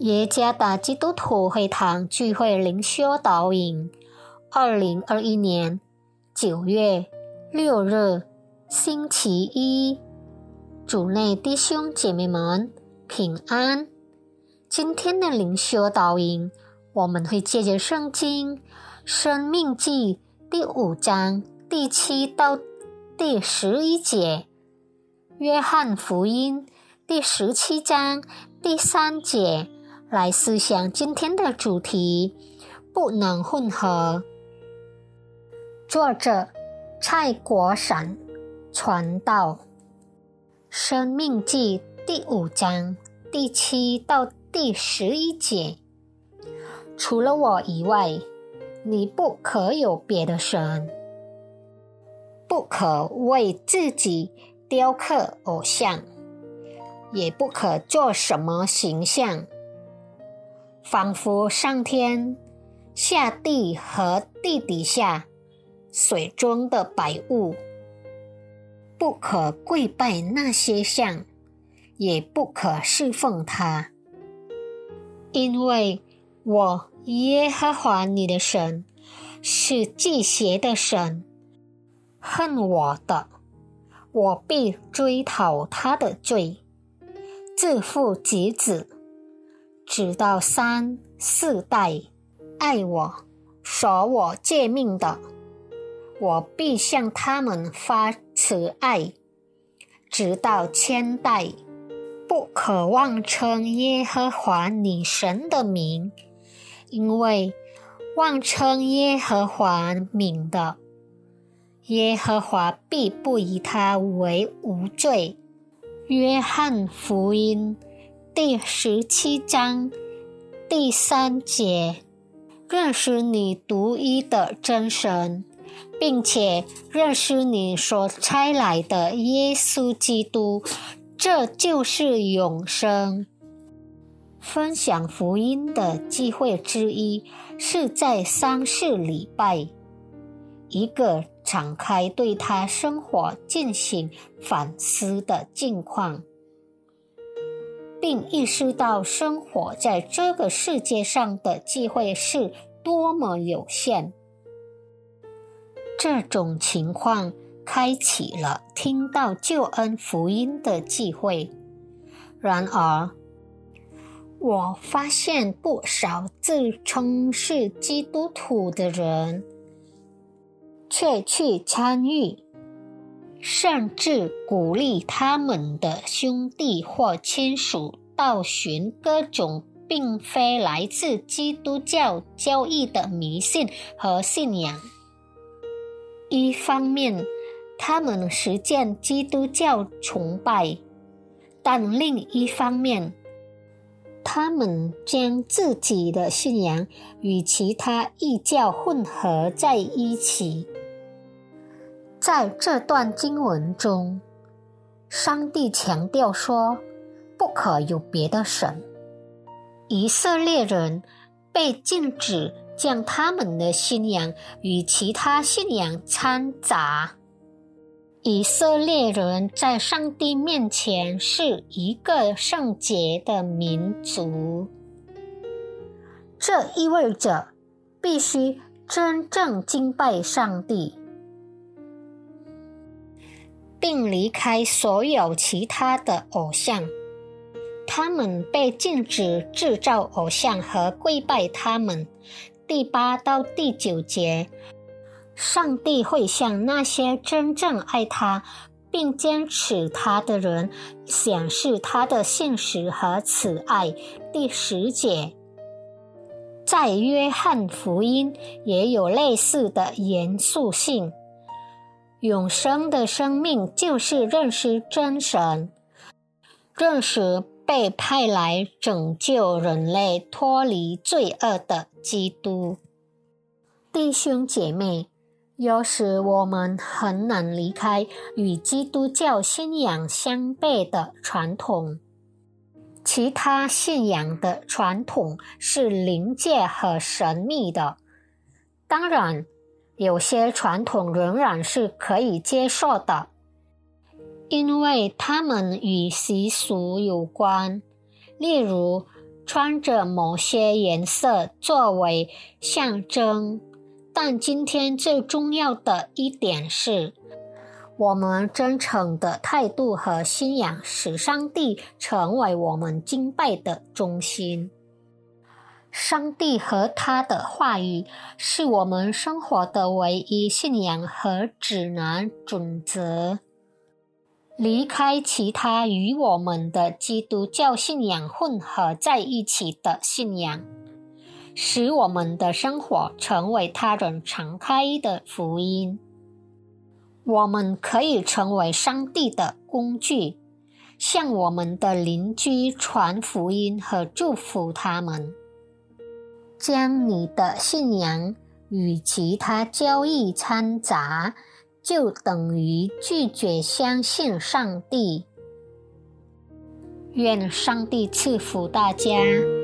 耶加达基督徒会堂聚会灵修导引2021年9月6日星期一，主内弟兄姐妹们平安。今天的灵修导引，我们会借着圣经申命记第5章第7到第11节，约翰福音第17章第3节来思想今天的主题，不能混合。作者蔡国闪传道。申命记第5章第7到第11节，除了我以外，你不可有别的神，不可为自己雕刻偶像，也不可做什么形象，仿佛上天、下地和地底下水中的百物，不可跪拜那些像，也不可侍奉它。因为我耶和华你的神是忌邪的神，恨我的，我必追讨他的罪，自父及子，直到3、4代，爱我、守我诫命的，我必向他们发慈爱，直到1000代。不可妄称耶和华你神的名，因为妄称耶和华名的，耶和华必不以他为无罪。约翰福音第17章第3节，认识你独一的真神，并且认识你所差来的耶稣基督，这就是永生。分享福音的机会之一是在丧事礼拜，一个敞开对他生活进行反思的境况，并意识到生活在这个世界上的机会是多么有限。这种情况开启了听到救恩福音的机会。然而，我发现不少自称是基督徒的人却去参与，甚至鼓励他们的兄弟或亲属到寻各种并非来自基督教教义的迷信和信仰。一方面，他们实践基督教崇拜，但另一方面，他们将自己的信仰与其他异教混合在一起。在这段经文中，上帝强调说，不可有别的神。以色列人被禁止将他们的信仰与其他信仰掺杂。以色列人在上帝面前是一个圣洁的民族，这意味着必须真正敬拜上帝，并离开所有其他的偶像。他们被禁止制造偶像和跪拜他们。第8到第9节，上帝会向那些真正爱他并坚持他的人显示他的信实和慈爱。第10节，在约翰福音也有类似的严肃性。永生的生命就是认识真神，认识被派来拯救人类脱离罪恶的基督。弟兄姐妹，有时我们很难离开与基督教信仰相悖的传统。其他信仰的传统是灵界和神秘的，当然，有些传统仍然是可以接受的，因为它们与习俗有关，例如穿着某些颜色作为象征，但今天最重要的一点是，我们真诚的态度和信仰使上帝成为我们敬拜的中心。上帝和他的话语是我们生活的唯一信仰和指南准则。离开其他与我们的基督教信仰混合在一起的信仰，使我们的生活成为他人敞开的福音。我们可以成为上帝的工具，向我们的邻居传福音和祝福他们。将你的信仰与其他教义掺杂，就等于拒绝相信上帝。愿上帝赐福大家。